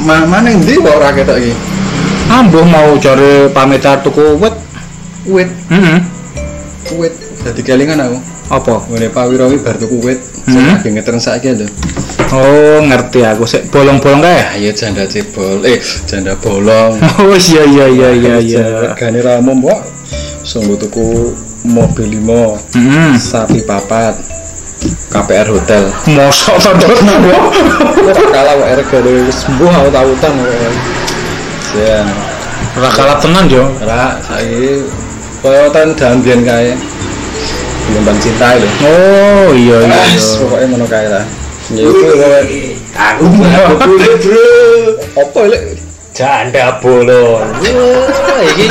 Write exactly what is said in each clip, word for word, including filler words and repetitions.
Mana ndi kok ora ketok iki? Ambuh mau cari pamitar tuku wit. Wit. Heeh. Wit. Dadi kelingan aku. Apa? Ngene Pak Wirawi bar tuku wit. Sing lagi ngetren saiki lho. Oh, ngerti aku. Sik bolong-bolong kae. Ayo janda cebol. Eh, janda bolong. Oh, iya iya iya iya iya. Regane ramum kok. Sungguh tuku mobil lima. Heeh. Sapi papat. K P R hotel. Mosok to, Dok. Ora kalah kok regane wis mbuh auta-autan kok. Sian. Ora kalah tenan yo. Ora saiki koyo ten dambian kae. Gelombang cinta lho. Oh, iya iya. Pokoke ngono kae lah. Ya iku aku aku bro. Apa lek janda bolong. Wah, iki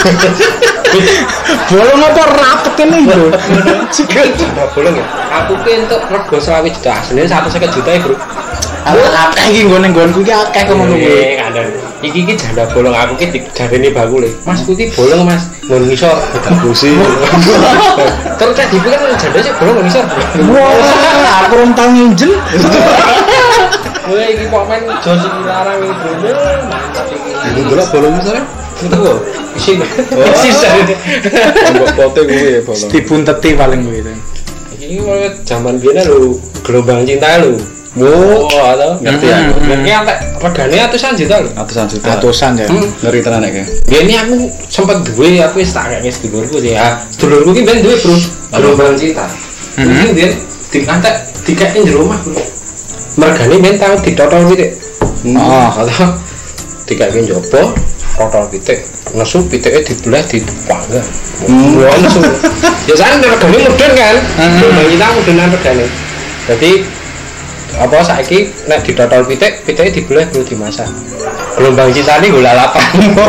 bolong apa rapet ini, Bro? Sikil janda bolong ya. Aku ki entuk rego selawe juta, asline seratus lima puluh juta ya, Bro. Akeh iki nggone-nggonku iki akeh kok ngono kuwi. Kandhan. Iki ki janda bolong aku ki dijarene bakule. Mas ku ki bolong, Mas. Mun ngisor ditambusi. Terus cek dipikir janda sih bolong ngisor. Wah, aku rong tau nginjel. Wah, iki kok men josi larang iki, Bro. Mantap iki. iku delok bolong sore? Itu kok isi. Sisa. Mbok pote kuwi bolong. Dibunteti paling kuwi. Iki koyo jaman biyen lho, gelombang cinta lho. Oh, atau ngerti aku. Ngerti antek regane atusan juta lho. Atusan juta. Atusan ya. Ngeri tenan nek. Biyen aku sempat duwe aku wis tak kene sedulurku sih ya. Sedulurku ki ben duwe, Bro. Gelombang cinta. Iki biyen diantek dikake di rumah, Bro. Mergane men tau ditotol pitik. Oh, atau dikake njopo, totol pitik. Nesu pitike dibelah dipanggang. Wah, nesu. Ya sak regane mudhun kan. Gelombang cinta mudhunan regane. Dadi apa saiki nek ditotol pitik, pitike dibelah bro dimasak. Gelombang cintane gula lapan.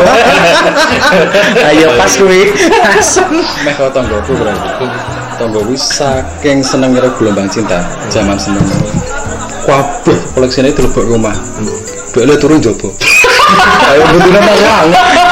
Ayo pas kuwi. Asem. Meh karo tanggoku berarti. Tanggoku saking seneng karo gelombang cinta zaman semono. Kabeh koleksine dilebok rumah. Dhekne turun jopo. Ayo butune masalah.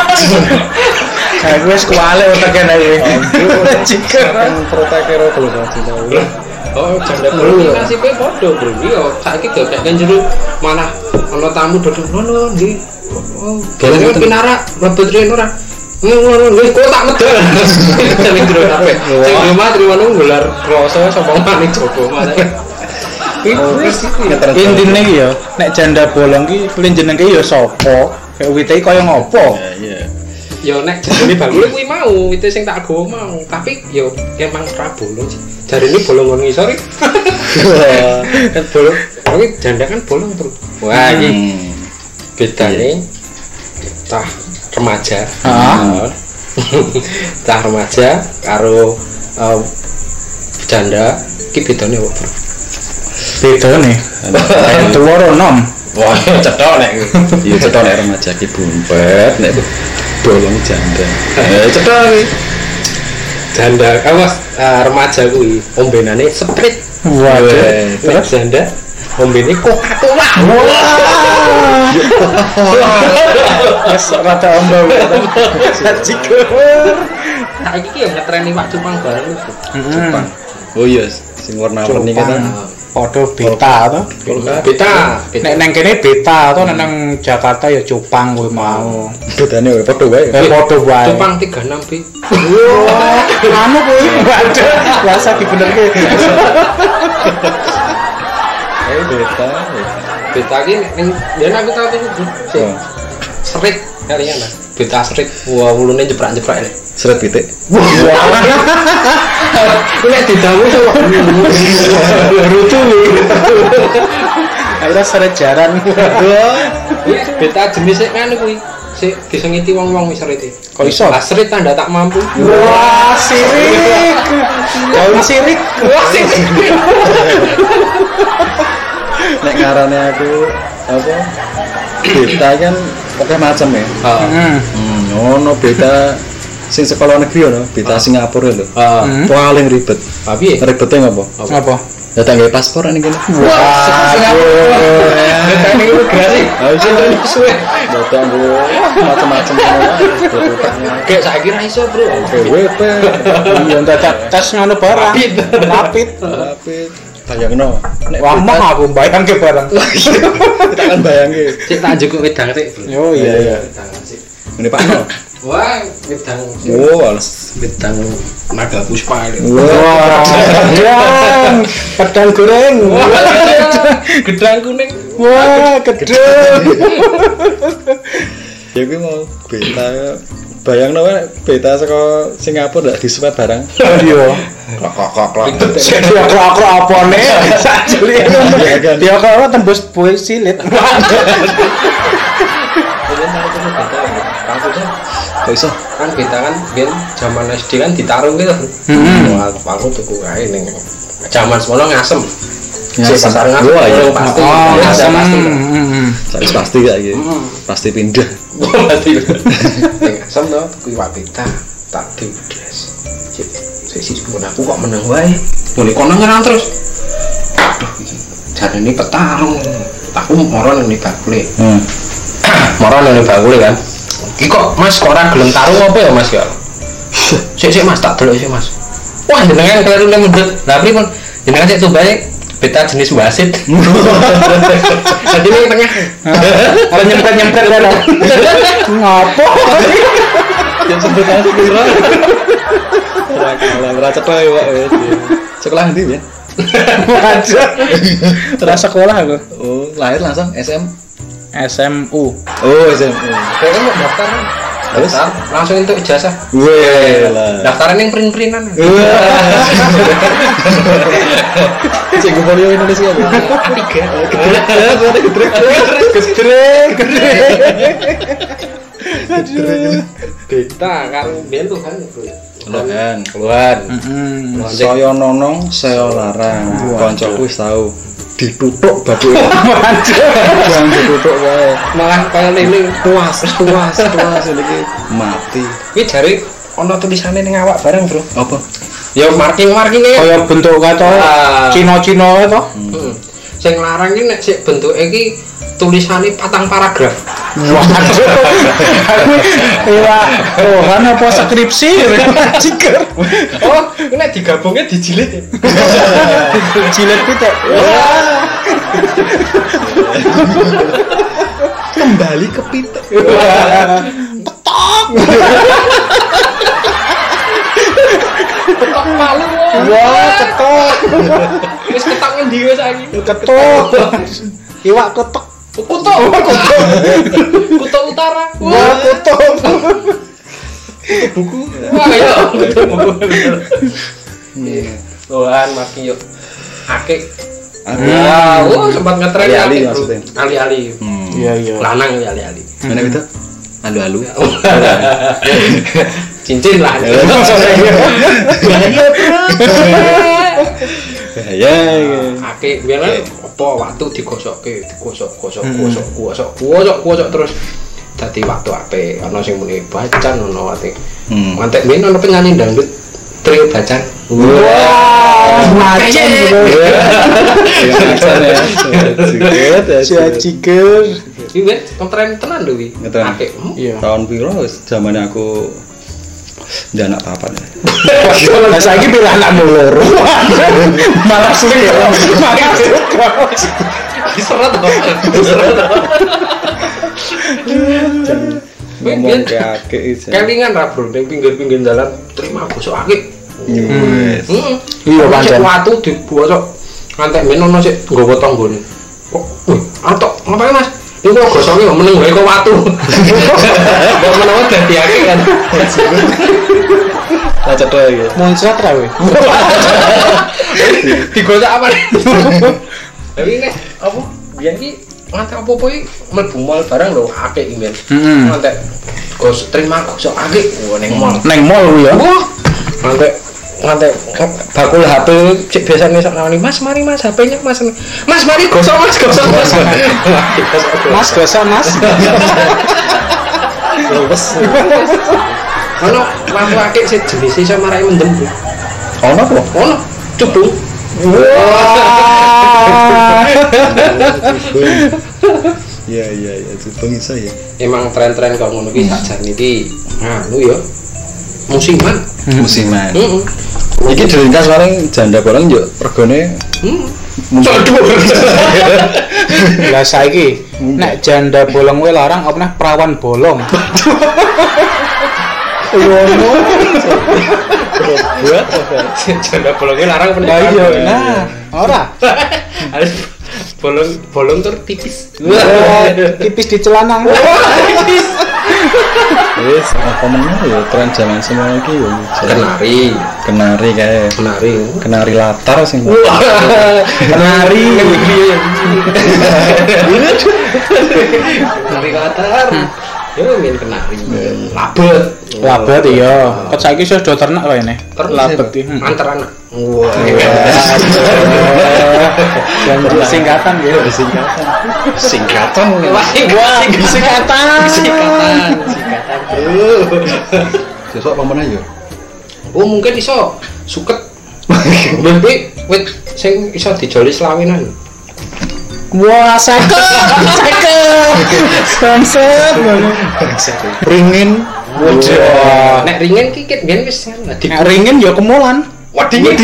Aku wis kuwale uteke nek iki. Saking protek karo gelombang cinta. Oh, janda bro, nasibe padha, Bro. Iya, saiki gak jero malah ana tamu dodok ngono nggih. Oh, galane pinara mlebu trene ora. Ngono wis kok tak medal. Jane jero kabeh. Sing rumah trimo nggelar rasa sapa maning jopo malah. Intine iki ya, nek janda bolong ki jenenge ya sapa? Kayak wite kaya ngopo? Iya. Ya nek jenenge bakule kuwi mau, wite sing tak gawa mau, tapi ya emang ora bolong sih. Jarine bolong ngisor iki. Kan bolong. Kuwi janda kan bolong, Bro. Wah, iki bedane cah remaja. Heeh. Cah remaja karo janda iki bedane opo, Bro? Bedane. Ayo tuwa nom. Wah, cetok nek. Iya cetok nek remaja ki bumpet nek bolong janda. Eh cetok iki. Janda awas remaja kuwi ombenane Sprite. Waduh. Terus janda ombene Coca-Cola. Wes rada ombo. Cikur. Nah iki yo ngetreni Pak Cupang bareng lho. Cupang. Oh iya, sing warna-warni kan. Padha beta to. Beta. Nek nang kene beta to nang Jakarta ya cupang kuwi mau. Bedane padha wae. Padha wae. Cupang tiga puluh enam B. Wah, anu kuwi waduh, biasa dibenerke. Eh beta. Beta ki ning yen aku tau tuku sing serit kalian lah. Beta serit wah ulune jeprak-jeprak lho. Seret pitik. Wah. Nek didawu kok Rutu. Akhirnya seret jaran. Beta jenis sik ngene kuwi. Sik disengiti wong-wong wis serite. Kok iso? Lah serit tanda tak mampu. Wah, sirik. Daun sirik. Wah, sirik. Nek ngarane aku apa? Beta kan oke macam ya. Heeh. Hmm, ono beta sing sekolah negeri ono, beta Singapura lho. Heeh. Paling ribet. Tapi Ribete ngopo? Apa? Datang gawe paspor ning kene. Wah, beta ini imigrasi. Harus suwe. Datang go macam-macam ngono. Kayak saiki ra iso, Bro. W P. iya dadak tes ngono barang. Rapid. Rapid. Rapid. Bayangno. Nek Wah, mah aku bayangke barang. kita kan bayangke. Cek tak njukuk wedang sik. Oh iya iya. Ini Pak No. Wah, wedang. Oh, alas Wedang naga puspa. Wah, gedang, pedang goreng. Gedang kuning. Wah, gedang. ya kuwi mau beta bayangno wae beta saka Singapura ndak disuwet barang. Iya. Kok-kok-kok. Sik diakro-akro apane? Sajeli. Dia kok tembus buih silit. Kok iso? Kan kita kan biyen zaman S D kan ditarung gitu. Hmm. Wah, aku tuku kae ning zaman semono ngasem. Ngasem. Cek pasar ngasem. Wah, iya. pasti. Oh, Iya, asam. pasti. Heeh. Saya pasti gak iki. Pasti pindah. Pasti. Ning ngasem to tuku iwak pita, tak diudes. Cek sesi sepuluh aku kok menang wae. Boleh kono nyerang terus. Aduh, iki jarene petarung. Aku moro nang bakule. Hmm. Moro nang bakule kan. Iki kok Mas kok ora gelem tarung apa ya Mas ya? Sik sik Mas tak delok sik Mas. Wah jenengan kleru nang mundut. Lah pripun? Jenengan sik tubae beta jenis wasit. Jadi ini tengah. Ada nyempret-nyempret kan. Ngapo? Yang sebut aja pira. Ora kalah, ora cetok ya, Pak. Sekolah ndi ya? Aja. Terus sekolah aku. Oh, lahir langsung S M. S M U. Oh, S M U. Kayaknya mau daftar kan? Terus? Daftar, langsung untuk ijazah. Weh lah. Daftaran yang print-printan. Cek polio Indonesia. Tiga. Gedrek, gedrek. Beta kan biyen tuh kan. Keluhan. Keluar. Heeh. Saya nonong, saya larang. Kancaku wis tau ditutuk baduke. Jangan ditutuk wae. Malah kaya lele. Tuas, tuas, tuas iki mati. Kuwi jare ana tulisane ning awak bareng, Bro. Apa? Ya marking-markinge. Kaya bentuk kaca Ah. Cina-Cina to. Heeh. Sing larang iki nek sik bentuke iki tulisane patang paragraf. Waduh. Iya, oh kan apa skripsi? Ciker. Oh, ini nek digabungnya dijilid ya. Jilid pitik. Kembali ke pitik. Ketok malu. Wah, ketok. Wis ketok ngendi wis saiki? Ketok. Iwak ketok. Kutok. Kutok. Kutok utara. Wah, ketok. Buku. Wah, ya. Tuhan makin yuk. Akik. Ah, oh sempat ngetren Ali-ali akik, Bro. maksudnya. Ali-ali. Iya, iya. Lanang ya ali-ali. Mana itu? Alu-alu. Cincin lah. Ya, Akik biyen apa waktu digosokke, digosok, gosok, gosok, gosok, gosok, gosok terus dadi waktu apik. Ana sing muni bacan ono ate. Hmm. Mantek men ono penyanyi dangdut trio bacan. Wah, macam gitu. Sia ciker. Iki wis kontren tenan lho wi. Ngetren. Akik. Iya. Tahun piro wis zamane aku janak papat. Lah saiki pilih anak loro. Malah suka. Malah suka. Diseret to. Diseret to. Ngomong ke akik iki. Kelingan ra bro ning pinggir-pinggir dalan terima gosok akik. Wes. Heeh. Iya, pancen. Watu digosok. Ngantek men ono sik nggawa tanggane. Kok, wih, atok, ngapain Mas? Ini kok gosoknya kok meneng wae kok watu. Kok menawa dadi akik kan. Lah cetok iki. Muncrat ra we. Digosok apa? Tapi nek apa? Biyen ki ngantek apa-apa iki mlebu mall barang lho akik iki men. Heeh. Ngantek gosok terima gosok akik wah ning mall. Neng mall ku ya. Wah, ngantek ngantek bakul H P cek biasane sok nawani Mas mari Mas H P-nya Mas. Mas mari gosok Mas gosok Mas. Mas gosok Mas. Wes. Ono lampu akik sing jenise iso marai mendem. Bro. Ono apa? Ono cubung. Iya iya iya, cubung iso ya. Emang tren-tren kok ngono ki sakjane iki nganu ya. Musiman. Musiman. Heeh. Iki diringkas paling janda bolong yo regane Coba. Lah saiki nek janda bolong kuwi larang apa neh perawan bolong. Ngono. Buat janda bolongnya larang Lah pernikahan. iya, nah, ora. Harus bolong bolong tur tipis. Wah, tipis di celana. wis apa meneh ya tren zaman semua iki yo Kenari, kenari kae kenari. kenari latar sing Kenari. Kenari latar. Yo main kenari. Labet. Labet iya. Ket saiki wis do ternak wae ne. Labet iki. Antar anak. Wah. Yang singkatan gitu. singkatan singkatan Wah, Wah, singkatan. Singkatan. Singkatan. sesuk apa meneh yo Oh, mungkin iso suket. Tapi wit sing iso dijoli selawinan. Wah, seket. Seket. Sunset. ringin Wah. Nek ringen ki ket biyen wis salah. Nek ringin ya kemulan. Wah, dingin.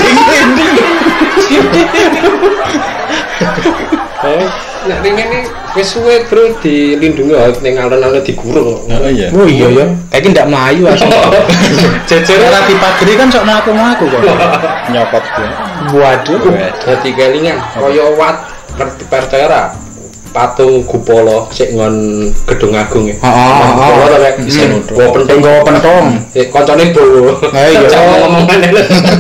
Oh, nek ringen iki wis suwe bro dilindungi ning alun-alun digurung. oh iya Oh iya ya. Kayaknya ndak melayu asli. Jejer Ora dipageri kan sok mlaku-mlaku kok. nyopot ya Waduh. dadi kelingan kaya wat percaya ora patung Gupala sik ngon Gedung Agung ya. Heeh, Gupala ta kayak Bisa isen nuduk. gua penting Tunggu pentong. eh koncone bowo. Ha iya. Ngomong-ngomongan lho.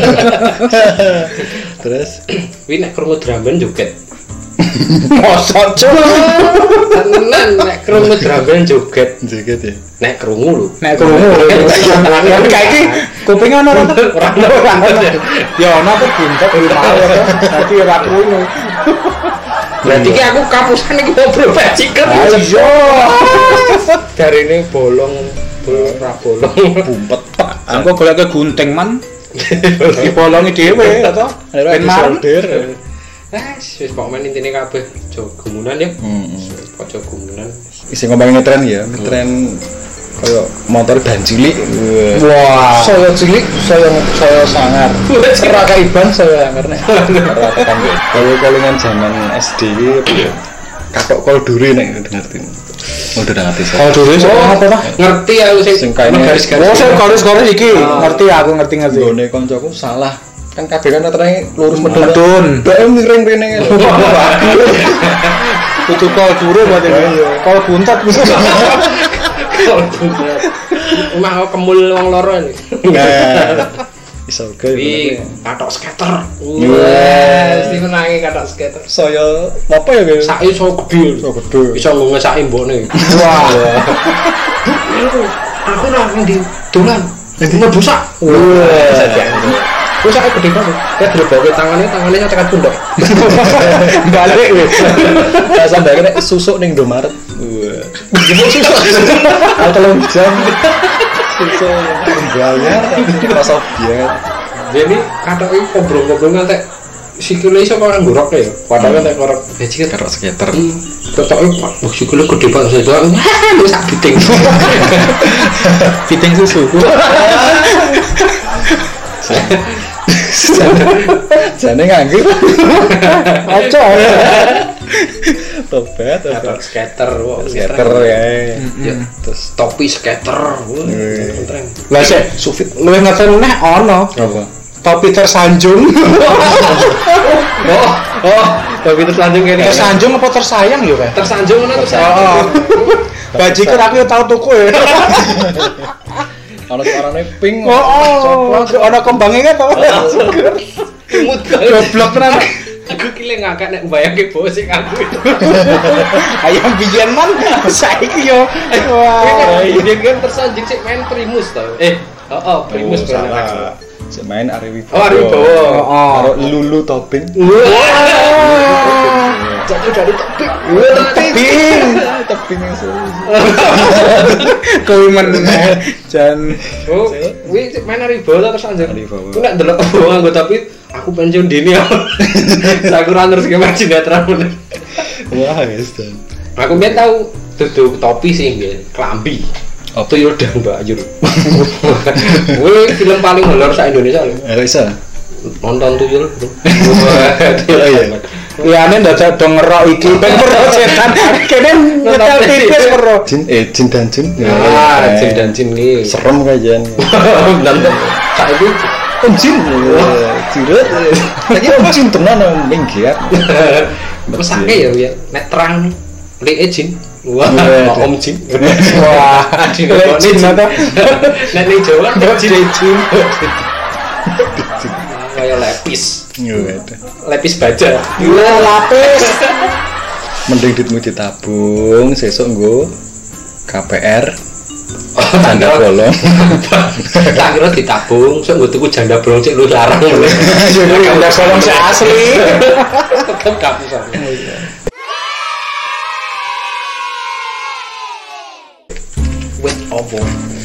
terus Wi nek krungu drum joget. Mosok cuk. Tenan nek krungu drum joget. joget ya Nek krungu lho. Nek krungu. Tapi kayak iki kuping ono ora? Ora ono. Ya ono kok buntet di mau ya. Dadi ora krungu. Berarti ki aku kapusan iki ngobrol bajingan. Ayo. Darine bolong, bolong ra bolong. bumpet Engko golek ke gunting man. Dibolongi dhewe to. Ben marem. Ah, wis pokoknya intine kabeh aja gumunan ya. hmm. Aja gumunan. isi ngomongin ngetren ya ngetren kaya motor ban cilik Wah. saya cilik saya saya sangar ora kaiban saya sangar nek ora tekan kalau kolingan zaman S D iki katok kol dure nek ngerti udah ngerti Oh saya dulu sih apa ta? Ngerti aku sing Sing kaine- garis-garis. Oh, saya garis-garis iki. Ngerti aku ngerti-ngerti. nggone koncoku salah kan kabeh kan terang lurus medun Medun. bae miring rene Kudu kol dure berarti. Kol buntet. Emang aku kemul wong loro iki. nah iso ge Wi, katok skater. Wah. Wah, mesti menangi katok skater. saya apa ya guys Sak iso gede. so gede Iso ngesaki mbokne. Wah. Aku ora nang di dolan. Mlebu sak. Wah. Wis sak gede banget. Kayak dreboke tangane, tangane sak tekan pundok. Balik wis. Nah, sampai kena susuk ning Indomaret. Wah. Jebuk susuk. Telung jam. Susuk bayar pas obyek. Jadi katoke kobrong-kobrong ngantek sikile iso kok nggorok ya. Padahal nek korok bajingan Karo skater. ketoke Pak, wah sikile gede banget saya. Wis sak biting. Fitting susu. Jane nganggur. Ojo. Tobat, Katok skater, wah skater ya. Ya, terus topi skater. Wah, keren. Lah sik, sufit luwih ngeten neh ono. Apa? Topi tersanjung. Oh, oh, topi tersanjung kene. Tersanjung apa tersayang yo kae? Tersanjung ngono terus. Oh. Bajikan aku yo tau tuku ya. Ana suarane pink. Oh, oh. Ono kembangnya kan to. Imut Goblok tenan. Aku kile ngakak nek mbayangke bos sing aku. Ayam biyen man saiki yo. Wah. Ini kan tersanjung sik main primus tau. Eh, oh, oh primus bener. salah. Sik main Ari Oh, Wibowo. Ari Wibowo. Karo Lulu Topping. Wah. Jatuh dari topik. Tebing. Topping yang seru. Kowe meneh jan. Oh, kuwi main Ari Wibowo terus anjir. Ari Wibowo. Ku nek ndelok Wibowo nggo tapi aku pensiun dini ya. Aku ora terus ke sinetron bener. Wah, guys. Dan. Aku biyen tau duduk topi sih nggih, klambi. Apa? Tuyul dan Mbak Ayur. Wih, film paling horor sa Indonesia lho. Ya bisa. Nonton Tuyul, Bro. Oh iya. Liyane ndak do ngerok iki ben ora setan. Kene nyetel tipis ora. Jin eh jin dan jin. Ah, jin dan jin iki. Serem kajian. Nonton saiki Om jin. Ciret. Lagi om jin tenan minggiat. mesake ya ya nek terang lek jin. Wah, om jin. Wah, lek jin apa? Nek ning Jawa jin jin. Kayak lepis. Lepis baja. Iya, lapis. Mending duitmu ditabung, sesuk nggo K P R. Janda bolong. Tak kira ditabung, sok nggo tuku janda bolong cek lu larang. Janda bolong sing asli. Tetep kapus. Wit opo?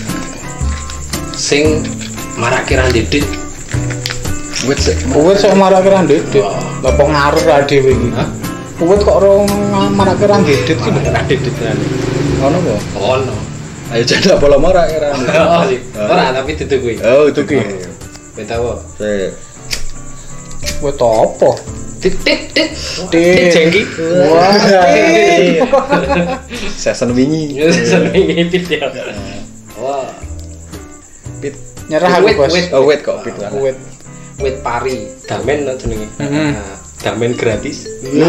Sing marake ra ndedit. Wit sik. Uwit sok marake ra ndedit. Lah kok ngaruh ra dhewe iki. Hah? Uwit kok ora marake ra ndedit ki lho. Ra ndedit kan. Ono apa? Ono. Ayo janda bolong ora kira. Ora tapi itu kuwi. Oh, itu ki. Beta wo. Sik. Uwit apa? Tit tit tit. Tit jengki. Wah. Season wingi. Seneng ngipit ya. Wah. Pit. Nyerah aku, Bos. Oh, wait kok pit lah. Uwit. Wit pari, damen no jenenge. Heeh. Damen gratis.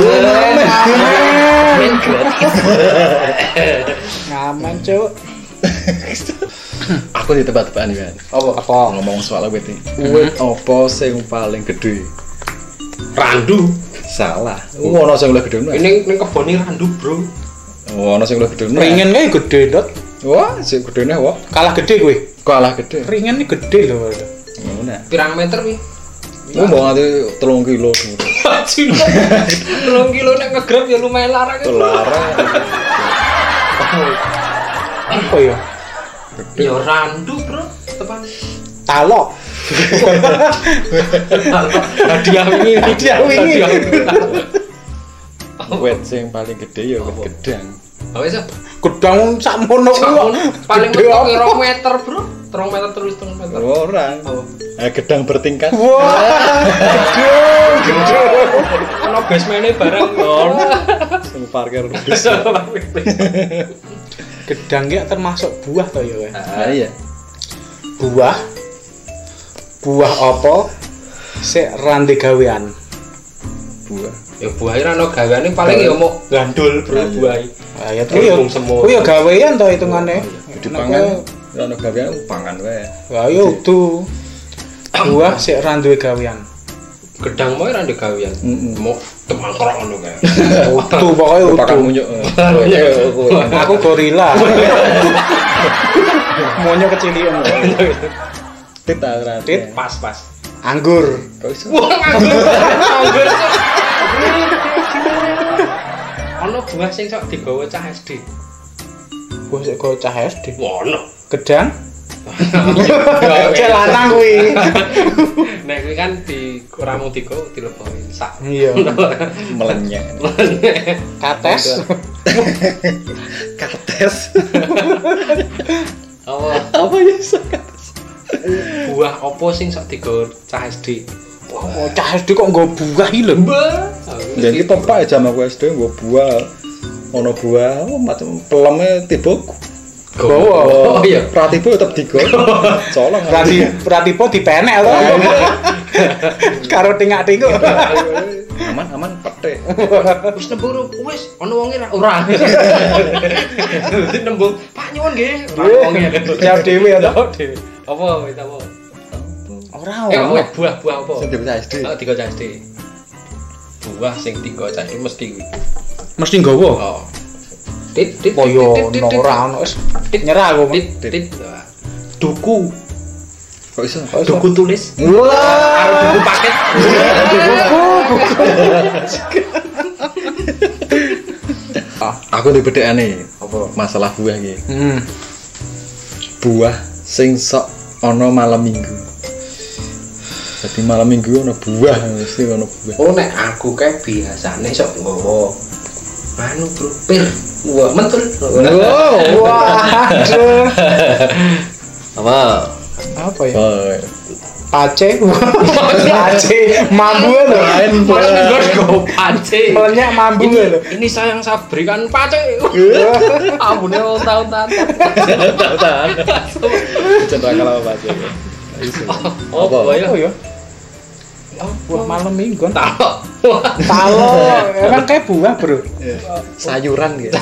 Damen gratis. Ngaman, Cuk. Aku di tempat-tempat kan. Apa? Apa? Ngomong soal wit iki. Hmm. Wit apa sing paling gede? Randu. Salah. Oh, ono sing luwih gede. Ini ning kebone randu, Bro. Oh, ono sing luwih gede. Ringen kae gede, Dot. Wah, sing gedene wah. Kalah gede kowe. Kalah gede. Ringen iki gede lho. Ngono. Pirang meter wi? Oh, mau nganti telung kilo. Telung kilo nek ngegrab ya lumayan larang. Larang. Apa ya? Ya randu, Bro. Tepan. Talok. Hadiah wingi, Hadiah wingi. Wit sing paling gede ya wit gedang. Oh wis. Gedang sakmono kuwi. Paling mentok rong meter, Bro. rong meter terus rong meter. Orang. Eh gedang bertingkat. Wah. Gedang, gedang. Ono basement-e bareng. Sing parkir bis. Gedang ki termasuk buah to ya, Wes? Ah iya. Buah. Buah apa? Sik rande gawean. Buah. Ya buah ora ono gaweane paling ya mau gandul, Bro, buah. Ah ya kuwi ya. Kuwi ya gawean to hitungane. Dipangan ora ono gawean pangan wae. Lah ya udu. Buah sik ra duwe gawean. Gedang mau ora ndek gawean. Mau temangkrok ngono kae. Udu pokoke udu. Pakai munyuk. Aku gorila. Monyo kecilian. Tit ora. Tit Pas-pas. Anggur. Kok iso? Wah, anggur. Anggur. Ono buah sing sok digawa cah S D. Buah sik kok cah S D. Ono. Gedang. Cek lanang kuwi. Nek kuwi kan di ora mung digawa dileboki sak. Iya. Melenyek. Kates. Kates. Oh, Apa ya kates? buah opo sing sok digawa cah S D? Oh, cah S D kok nggo buah iki lho. Dan kita pak jam aku S D nggo buah. Ono buah macam peleme tiba Gowo. Oh iya, pratibo tetep digo. Colong. Prati pratipo dipenek to. Karo tingak-tinguk. Aman aman petik. wis nembung wis ono wonge ra ora. Wis nembung, Pak nyuwun nggih. Wonge Jawab dhewe ya to. dhewe. Apa wis apa? Ora Eh, ono. buah-buah apa? Sing dibaca S D. Oh, tiga cah S D. Buah sing tiga cah S D mesti kuwi. Mesti nggawa. Oh. Tit tit Koyo ono ora ono wis nyerah aku. tit tit. Duku. Kok iso? Duku tulis. Wah, Karo duku paket. Aku di bedekane apa masalah buah iki. Hmm. Buah sing sok ana malam Minggu. Jadi malam Minggu ana buah mesti ana buah. Oh nek aku kae biasane sok nggawa anu bro pir Wah, mentul. Wow, waduh. Apa? Apa ya? Oh. Pace. Pace. Mambu lho. Mas Minggu go pace. Banyak mambu lho. Ini sayang saya berikan pace. Ambune tahun-tahun. Tahan. Cenderung kalau apa aja. Oh, apa ya? Oh ya. Buah malam mingguan. Talo. Talo. Emang kayak buah, Bro. Sayuran gitu.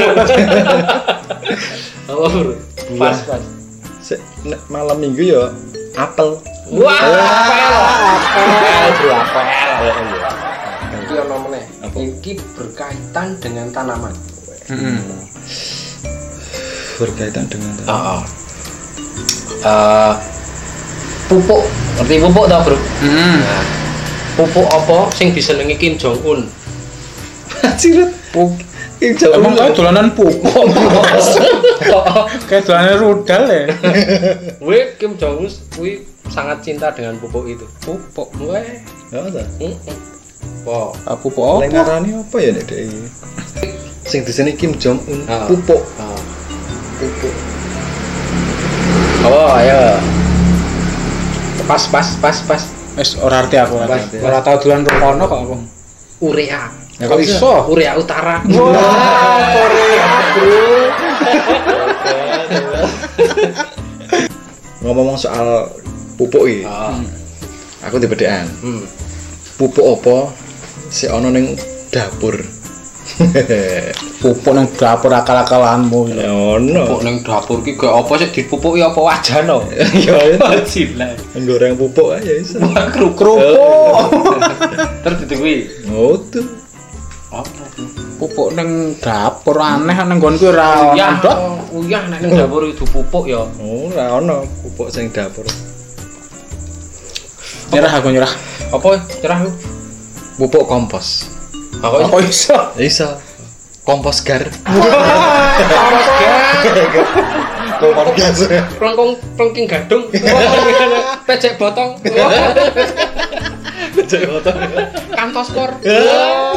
Apa, Bro? Pas, pas. Sik nek malam minggu ya apel. Wah, apel. Apel, Bro, apel. Iki ono meneh. Iki berkaitan dengan tanaman. Heeh. Berkaitan dengan Heeh. Eh pupuk, ngerti pupuk ta, Bro? Heeh. Nah, pupuk apa sing disenengi Kim Jong Un? Ciret. Kim Jong Un. Emang kayak dolanan pupuk. Kayak dolanan rudal ya. Wih, Kim Jong Un kuwi sangat cinta dengan pupuk itu. Pupuk. Weh. Ya ta. Heeh. Wah, Ah, pupuk Nek apa? ngarani apa ya nek dek iki? Sing diseni Kim Jong Un Ah. pupuk. ah, pupuk. Oh, ayo. Pas, pas, pas, pas. Wis ora arti aku ora. Pas. Ora tau dolan rokono kok aku. Urea. Ya kok iso? Urea Utara. Wah, Korea, Bro. Ngomong soal pupuk iki, Ah. aku dibedekan. Hmm. Pupuk apa sing ana ning dapur? Pupuk nang dapur akal-akalanmu. Ya ono. Pupuk ning dapur ki gak apa sih dipupuki apa wajano? Ya Cilah. goreng pupuk aja iso. Kerupuk. Terus dituwi. Oh tuh. Apa? Pupuk nang dapur aneh nang nggonku ora Uyah, ndot. uyah nek ning dapur itu pupuk ya. Oh, ora ono pupuk sing dapur. Nyerah aku nyerah. Apa cerah lu? Pupuk kompos. Aku Apa iso? Iso. Kompos gar. kompos gas. Kompos gas. Plengkung plengking gadung. Pecek botong. Cek foto. Kantos kor.